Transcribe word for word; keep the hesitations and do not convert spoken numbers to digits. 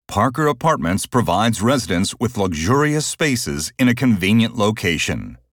Parker Apartments provides residents with luxurious spaces in a convenient location.